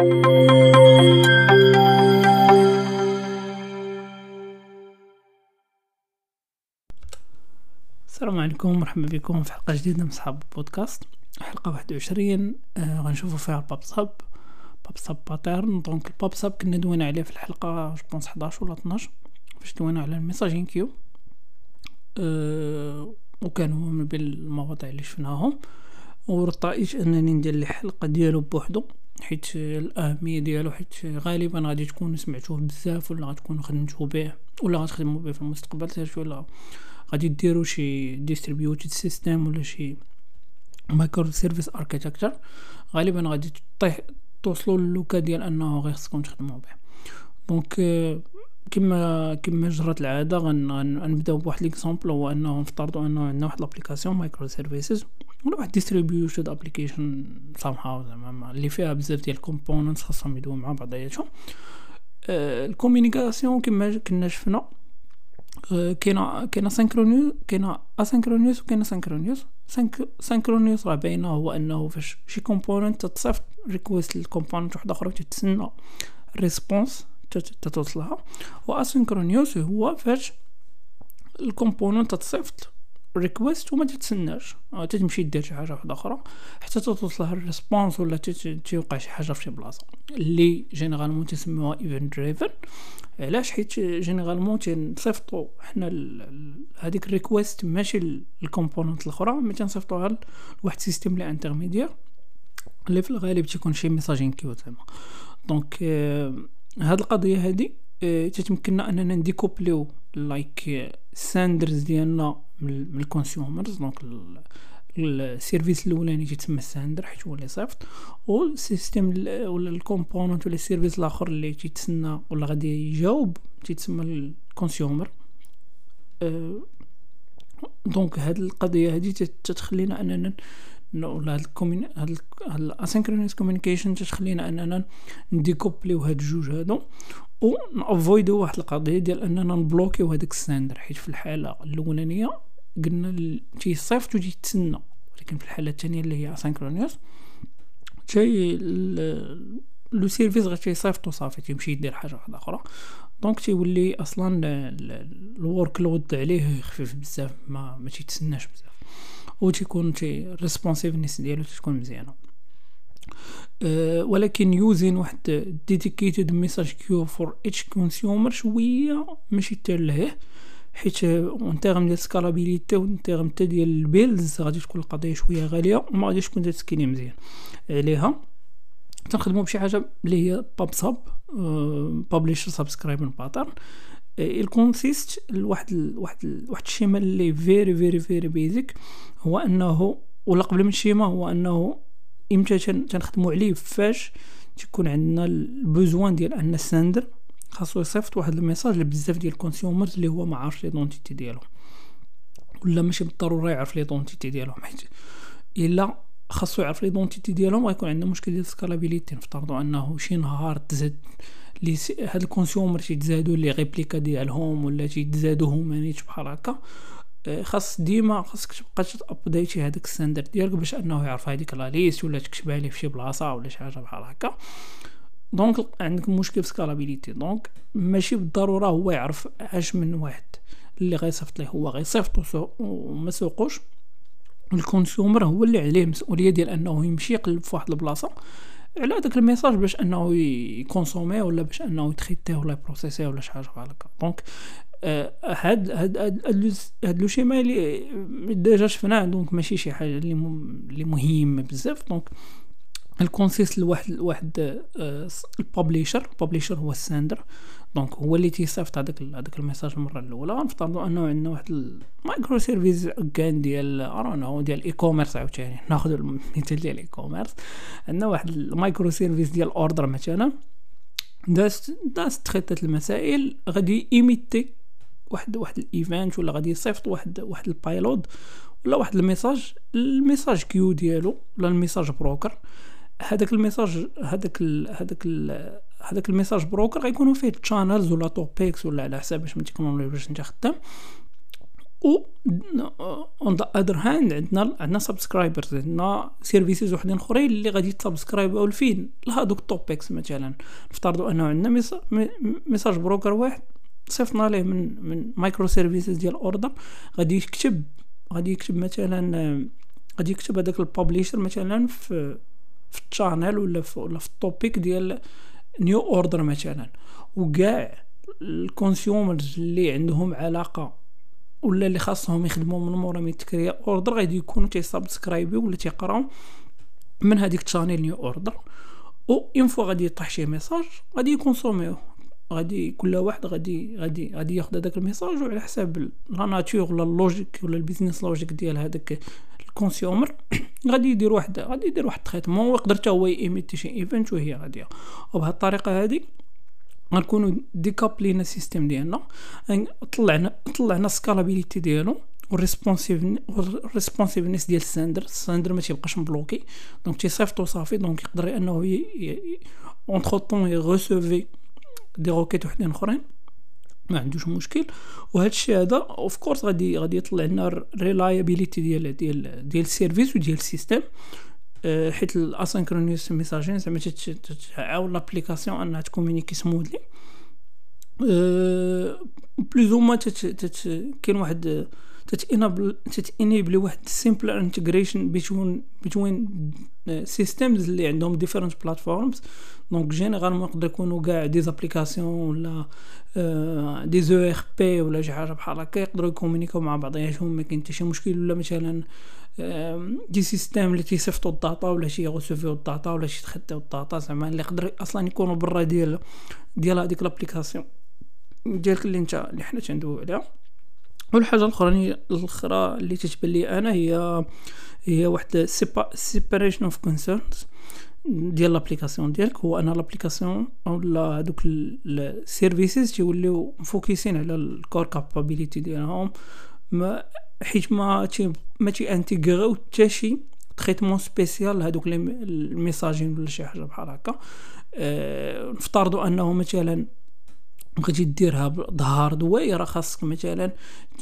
السلام عليكم، مرحبا بكم في حلقة جديدة من صحاب البودكاست. حلقة 21 غنشوفوا فيها الباب ساب باترن. دونك الباب ساب كنا دوينا عليه في الحلقة جوبونس 11 ولا 12 فاش دوينا على الميساجين كيو، وكان هو من بين المواضيع اللي شفناهم، ورطائج انني ندير لي حلقة ديالو بوحدو حيت الاهمية ديالو، حيت غالبا غادي تكونوا سمعتوه بزاف ولا غتكونوا خدمتوا به ولا غتخدموا به في المستقبل، سيرتو ولا غادي ديروا شي ديستريبيوتد سيستم ولا شي مايكرو سيرفيس اركيتكتشر. غالبا غادي توصلوا للوكا ديال انه غير خصكم تخدموا به. دونك كما جرت العاده غنبداو بواحد ليكزامبل، هو انه نفترضوا انه عندنا واحد لابليكاسيون مايكرو سيرفيسز ولا واحد ديستريبيوتد ابليكيشن سامهاو زعما اللي فيها بزاف ديال الكومبوننتس خاصهم يدويو مع بعضياتهم. الكومونيكاسيون كما كنا شفنا كاينه سينكرونيوس، كاينه اسينكرونيوس وكاينه سينكرونيوس. سينكرونيوس راه باينه هو انه فاش شي كومبوننت تتصيفط ريكويست للكومبوننت واحده اخرى تتسنى الريسبونس تتوصلها، واسينكرونيوس هو فاش الكومبوننت تتصيفط ريكويست وما تتسناش، تتمشي دير شي حاجه واحده اخرى حتى توصلها الريسبونس ولا توقع شي حاجه في شي بلاصه، اللي جينيرالمون تسموها ايفنت دريفن. علاش؟ حيت جينيرالمون تنصيفطوا حنا هذيك الريكويست ماشي الكومبوننت الاخرى، مي تنصيفطوها لواحد سيستم لي انترميديير اللي في الغالب تيكون شي ميساجين كيو زعما. دونك هاد القضيه هادي تتمكننا اننا نديكوبليو لايك ساندرز ديالنا من الكونسيومرز. دونك السيرفيس الاولاني تيتسمى الساندر حيت هو اللي صيفط، والسيستم ولا الكومبوننت ولا السيرفيس الاخر اللي تيتسنى ولا غادي يجاوب تيتسمى الكونسيومر. دونك هاد القضيه هذه تتخلينا اننا ولا هاد الاسينكرونيس كوميونيكيشن تتخلينا اننا نديكوبليو هاد الجوج هادو ونافويدو واحد القضيه ديال اننا نبلوكيو هذاك الساندر، حيت في الحاله الاولانيه قلنا تيصيفط وتيتسنى، ولكن في الحاله الثانيه اللي هي اسينكرونيوس لو سيرفيس غير تيصيفط وصافي تيمشي يدير حاجه واحده اخرى. دونك تيولي اصلا الورك لود عليه خفيف بزاف، ما تيتسناش بزاف، وتيكون الريسبونسيفنس ديالو تكون مزيانه. ولكن يوزين واحد ديديكيتد ميساج كيو فور اتش كونسيومر شويه ماشي تاليه، حيت اونتيرم ديال سكالابيليتي وانتيرم حتى ديال البيلز غادي تكون القضيه شويه غاليه وما غاديش تكون تسكيني مزيان عليها. تنخدموا بشي حاجه اللي هي باب ساب بابليشر سبسكرايبر باترن. الكونسيست واحد الشيما اللي فيري بيزك، هو انه ولا قبل من الشيما هو انه امتى تنخدموا عليه فاش تكون عندنا البوزوان ديال ان الساندر خاصو يصيفط واحد الميساج لبزاف ديال الكونسيومرز اللي هو ما عارفش ليدونتيتي ديالهم، ولا ماشي بالضروره يعرف ليدونتيتي ديالهم، حيت الا خاصو يعرف ليدونتيتي ديالهم غيكون عندنا مشكل ديال سكالابيليتي. نفترضوا انه شي نهار تزاد لي هاد الكونسيومر تيتزادوا لي ريبليكا ديالهم ولا تيتزادوا هما نيت بحال هكا، خاصك تبقى تابديتي هذاك الستاندرد ديالك باش انه يعرف هذيك لا ليست ولا تكتبها ليه في شي بلاصه ولا شي حاجه بحال هكا. دونك عندك مشكل في سكالابيليتي. دونك ماشي بالضروره هو يعرف اش من واحد اللي غيصيفط ليه، هو غيصيفطو وما سوقوش. الكونسيومر هو اللي عليه المسؤوليه ديال انه يمشي يقلب في واحد البلاصه على داك الميساج باش انه يكونسومي ولا باش انه يتريتيه ولا يبروسيسيه ولا شي حاجه بحال هكا. دونك هاد لو شيما اللي ديجا شفناه، دونك ماشي شي حاجه اللي مهمه بزاف. دونك الكونسيست لواحد البابليشر هو الساندر، دونك هو اللي تيصيفط هذاك الميساج المره الاولى. غنفترضوا انه عندنا واحد المايكرو سيرفيس كان ديال ارونو ديال اي كوميرس، عاوتاني ناخذ المثال ديال اي كوميرس. عندنا واحد المايكرو سيرفيس ديال اوردر مثلا داز تريتات المسائل، غادي ايميتي واحد الايفنت ولا غادي يصيفط واحد البايلود ولا واحد الميساج كيو ديالو ولا الميساج بروكر. هذاك الميساج بروكر غيكونوا فيه تشانلز ولا توبيكس ولا على حساب باش من التكنولوجيا باش انت خدام، و اون ذا اذر هاند عندنا سبسكرايبرز، عندنا سيرفيسز وحدين اخرين اللي غادي يتسبسكرايبوا لفين لهادوك التوبكس. مثلا نفترضوا انه عندنا ميساج بروكر واحد صيفطنا ليه من مايكرو سيرفيسز ديال اوردر، غادي يكتب مثلا غادي يكتب هذاك البابليشر مثلا في الشانل ولا في التوبيك ديال نيو اوردر مثلا، وكاع الكونسيومرز اللي عندهم علاقه ولا اللي خاصهم يخدموا من مورا من تكريا اوردر غادي يكونوا تيسبسكرايبي ولا تيقراو من هذيك الشانل نيو اوردر. و اون فوا غادي يطيح شي ميساج غادي يكونسوميو، غادي كل واحد غادي ياخذ هذاك الميساج وعلى حساب لا ناتور ولا اللوجيك ولا البيزنس لوجيك ديال هذاك الكونسيومر غادي يدير واحد تريتمون، ويقدر حتى هو يميتي شي ايفنت وهي غاديه. وبهذه الطريقه هذه غنكونوا ديكابلينا السيستم ديالنا، طلعنا سكالابيليتي ديالو والريسبونسيفنس ديال الساندر ما تيبقاش مبلوكي، دونك تيصيفطو صافي، دونك يقدر انه اونتر طون يغوسوفي دي روكيت وحدين اخرين ما عندوش مشكل. وهذا الشيء هذا اوف كورس غادي يطلع لنا ريلايابيليتي ديال السيرفيس وديال السيستم، حيت الاسynchronous ميساجين زعما تعاون لابليكاسيون انها تكومونيكي سموذلي بلوز ما كاين واحد تتانيبل واحد سيمبل انتجريشن بين سيستمز اللي عندهم ديفيرنت بلاتفورمز. دونك جينيرالمون يقدر يكونوا كاع دي زابليكاسيون ولا دي زو ار بي ولا شي حاجه بحال هكا يقدروا يكومونيكاو مع بعضياتهم، ما كاين حتى شي مشكل. ولا مثلا دي سيستم اللي تيصيفطوا الداتا ولا شي يغوسوفيو الداتا ولا شي تخداو الداتا زعما اللي يقدر اصلا يكونوا برا ديال هذيك لابليكاسيون ديالك اللي حنا تندويو عليها. والحاجه الاخرى اللي تتبان لي انا هي واحد سيباريشن اوف كونسيرنز ديال لابليكاسيون ديالك. هو انا لابليكاسيون اولا هذوك السيرفيسز تيوليو مفوكسين على الكور كابابيليتي ديالهم، حيت ما تي انتيغريو حتى شي تريتمون سبيسيال هذوك الميساجين ولا شي حاجه بحال هكا. نفترضوا انه مثلا بغيتي ديرها بهاردوير، راه خاصك مثلا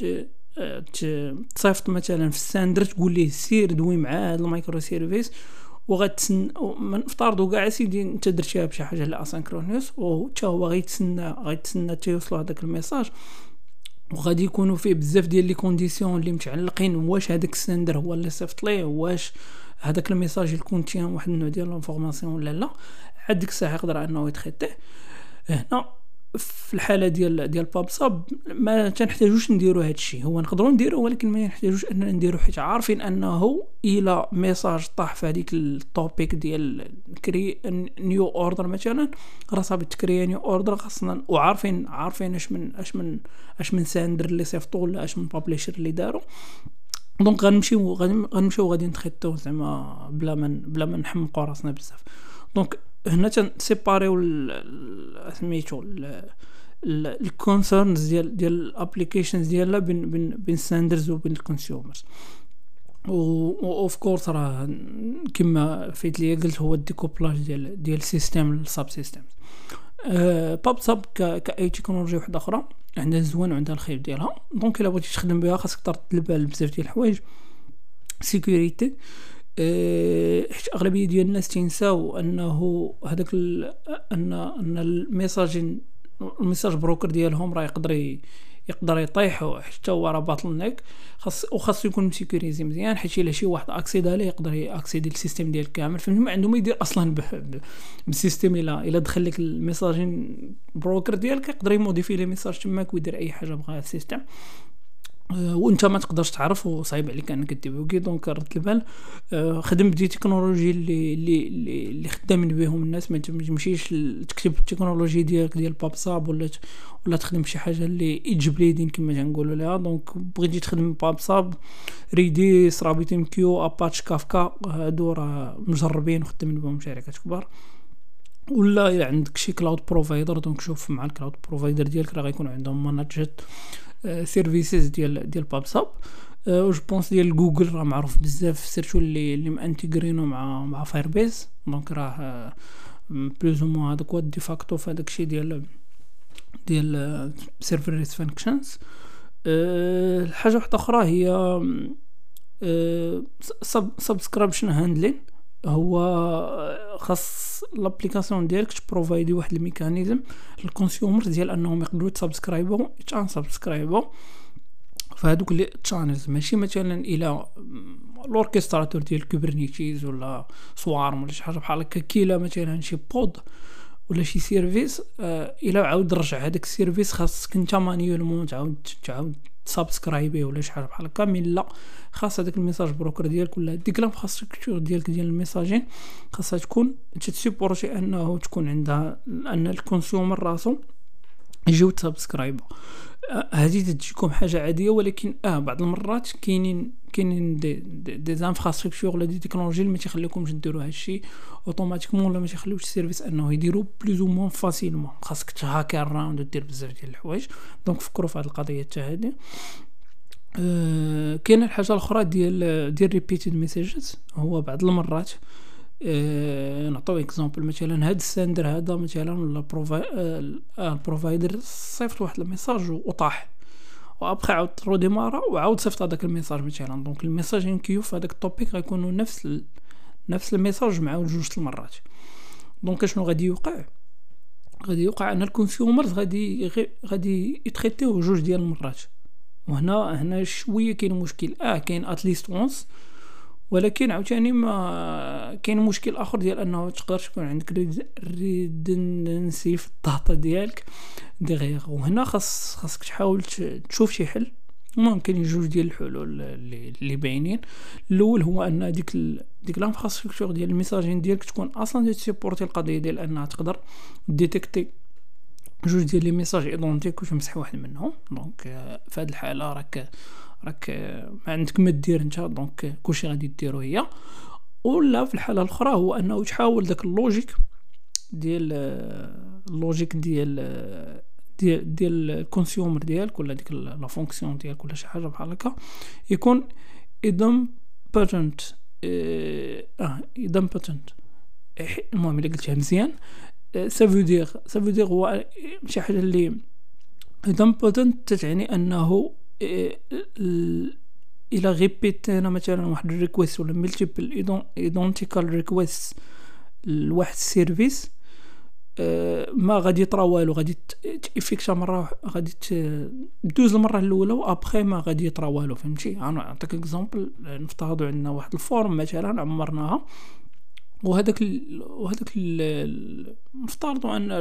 تصيفط مثلا في الساندر تقول ليه سير دوي مع هذا المايكرو سيرفيس، وغتسنى نفترضوا كاع سيدي انت درتيها بشي حاجه لا اسynchronous، وحتى هو غيتسنى تيوصلوا هذاك الميساج، وغادي يكونوا فيه بزاف ديال لي كونديسيون اللي متعلقين واش هذاك الساندر هو اللي صيفط ليه، واش هذاك الميساج يكونتين واحد النوع ديال الانفورماسيون ولا لا. عاد ديك الساعه يقدر انه يتريتيه. هنا في الحاله ديال بابصاب ما تنحتاجوش نديروا هذا الشيء، هو نقدروا نديروه ولكن ما نحتاجوش اننا نديروه، حيت عارفين انه الى ميساج طاح في هذيك التوبيك ديال كري نيو اوردر مثلا، راه صافي تكري نيو اوردر خاصنا، وعارفين اش من ساندر اللي صيفطوا ولا اش من بابليشر اللي داروا. دونك غنمشيو غادي نتريتو زعما بلا ما نحمقوا راسنا بزاف. دونك هنا تنسيباريو سميتو الكونسيرنز ديال الابليكيشنز ديالنا بين ساندرز وبين الكونسيومرز. اوف كورس راه كما فايت لي قلت هو الديكوبلاج ديال السيستم للساب سيستم. بابصاب كاي تكنولوجيا واحده اخرى عندها الزوين وعندها الخيب ديالها. دونك الا بغيتي تخدم بها خاصك ترد البال بزاف ديال الحوايج. سيكوريتي، حيت اغلبيه ديال الناس تنساو انه هذاك ان الميساج بروكر ديالهم راه يقدر يطيح حتى هو راه باطل نيك، خاص يكون مسيكوريزي مزيان، حيت الا شي واحد اكسيد عليه يقدر ياكسيدي السيستم ديال كامل. فهمتي ما عنده ما يدير اصلا بالسيستم. الا دخل لك الميساجين بروكر ديالك يقدر يموديفي لي ميساج تماك ويدير اي حاجه بغاها السيستم، وانت ما تقدرش تعرف وصعيب عليك انك تديبوكي. دونك رد البال، خدم بدي تكنولوجي اللي خدامين بهم الناس، ما تمشيش تكتب التكنولوجي ديالك ديال بابصاب ولا تخدم شي حاجه اللي ايجبليدين كما تنقولوا لها. دونك بغيتي تخدم بابصاب، ريديس، رابط كيو، اباتش، كافكا، هادو راه مجربين وخدامين بهم شركات كبار. ولا الا عندك شي كلاود بروفايدر، دونك شوف مع الكلاود بروفايدر ديالك راه غيكون عندهم ماناجات سيرفيسز ديال بابصاب. و جو بونس ديال جوجل راه معروف بزاف، سيرتو اللي مانتيغرينو مع فايربيز. دونك راه بلوز مو هذاك هو دي فاكتو في هذاك الشيء ديال سيرفرليس فانكشنز. الحاجه واحده اخرى هي سبسكريبشن هاندلين. هو خاص لابليكاسيون ديالك تبروفايدي واحد الميكانيزم للكونسيومر ديال انهم يقدروا يتسبسكرايبو يتسبسكرايبو فهادوك لي تشانلز، ماشي مثلا الى الاوركستراتور ديال كوبرنيتيز ولا سوارم ولا شي حاجه بحال هكا، كيلا مثلا شي بود ولا شي سيرفيس، الى عاود رجع هذاك السيرفيس خاصك انت مانيولمون تعاود سبسكرايبي ولا شي حاجه بحال هكا. من لا خاص هذاك الميساج بروكر ديالك ولا ديك لانفراستركتور ديالك ديال الميساجين خاصها تكون تسيبورتي انه تكون عندها ان الكونسيومر راسو يجيو تسبسكرايب. هذه تجيكم حاجه عاديه، ولكن بعض المرات كاينين دي زانفراستركتور ولا دي تكنولوجي اللي ما تيخليكمش ديروا هادشي اوتوماتيكمون ولا ما تيخليوش السيرفيس انه يديروا بلوز او موان فاسيلمون، خاصك تهاكي الراوند ودير بزاف ديال الحوايج. دونك فكروا في هذه القضيه حتى هذه. كاينه الحاجه الاخرى ديال ريبيتد ميساجز. هو بعض المرات نعطيو اكزامبل، مثلا هاد الساندر هذا مثلا ولا البروفايدر صيفط واحد الميساج وطاح، وابخي عاود روديمارا وعاود صيفط هذاك الميساج مثلا. دونك الميساج ينكيو في هذاك التوبيك غيكونوا نفس الميساج معاود جوج المرات. دونك شنو غادي يوقع ان الكونسيومرز غادي يتريتيو جوج ديال المرات. وهنا شويه كاين مشكل. كاين اتليست وونس، ولكن عاوتاني ما كاين مشكل اخر ديال انه تقدر تكون عندك ريدندنسي في الداتا ديالك دغيغ. وهنا خاصك تحاول تشوف شي حل. ممكن جوج ديال الحلول اللي باينين. الاول هو ان ديك لانفراستركتور ديال الميساجين ديالك تكون اصلا تسيبورتي القضيه ديال انها تقدر ديتيكتي جوج ديال لي ميساج ايدونتيك وتمسح واحد منهم. دونك في هذه الحاله راك ما عندك ما دير انت، دونك كلشي غادي ديرو هي. ولا في الحاله الاخرى هو انه تحاول داك اللوجيك ديال الكونسيومر ديالك ولا ديك لا فونكسيون ديالك ولا شي حاجه بحال هكا يكون idempotent. idempotent المهم الا قلتها مزيان سافودير هو شي حاجه اللي idempotent تعني انه الى غيبيتينا مثلا واحد الريكويست ولا ملتيبل ايدونتيكال ريكويست لواحد السيرفيس، ما غادي يطرا والو، غادي تيفيكتا مره، غادي تدوز المره الاولى وابخي ما غادي يطرا والو. فهمتي؟ انا نعطيك اكزامبل. نفترضوا عندنا واحد الفورم مثلا عمرناها، وهذاك نفترضوا ان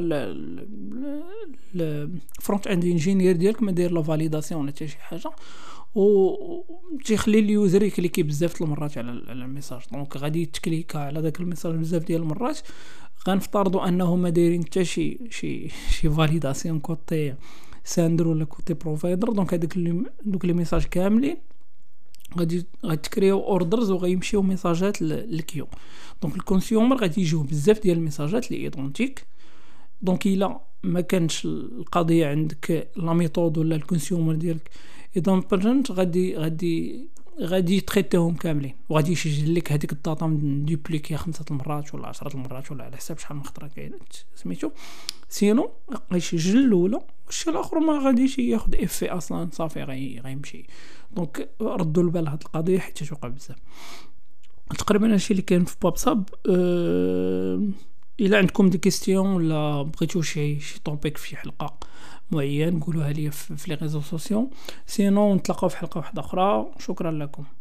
الفرونت اند انجينير ديالك ما داير لا فاليداسيون ولا حتى شي حاجه، و تيخلي اليوزر يكليكي بزاف د المرات على الميساج. دونك غادي يتكليكا على داك الميساج بزاف ديال المرات. غنفترضوا انه ما دايرين حتى شي فاليداسيون كوتي ساندر ولا كوتي بروفايدر. دونك دوك لي ميساج كاملين غادي تكريو اوردرز وغيمشيو ميساجات للكيو. دونك الكونسيومر غادي يجيو بزاف ديال الميساجات لي ايدونتيك. دونك الا ما كانش القضيه عندك لا ميثود ولا الكونسيومر ديالك ايدونبرنت غادي يتريتيهم كاملين، وغادي يسجل لك هذيك الداتا من دوبليكي 5 المرات ولا 10 المرات ولا على حساب شحال من خطره كاينت سميتو. سينو غيسجل الاولى والشيء الاخر ما غاديش ياخذ افي اصلا، صافي غيمشي. دونك ردوا البال هاد القضيه حيت توقع بزاف. تقريبا هادشي اللي كاين في باب صاب. الا عندكم دي كيستيون ولا بغيتو شي توبيك في شي حلقه معين قولوها لي في لي ريزو سوسيو. سينو نتلاقاو في حلقه واحده اخرى. شكرا لكم.